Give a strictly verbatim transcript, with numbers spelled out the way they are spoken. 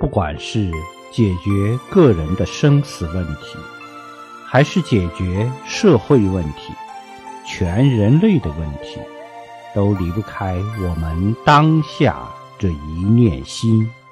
不管是解决个人的生死问题，还是解决社会问题、全人类的问题，都离不开我们当下这一念心。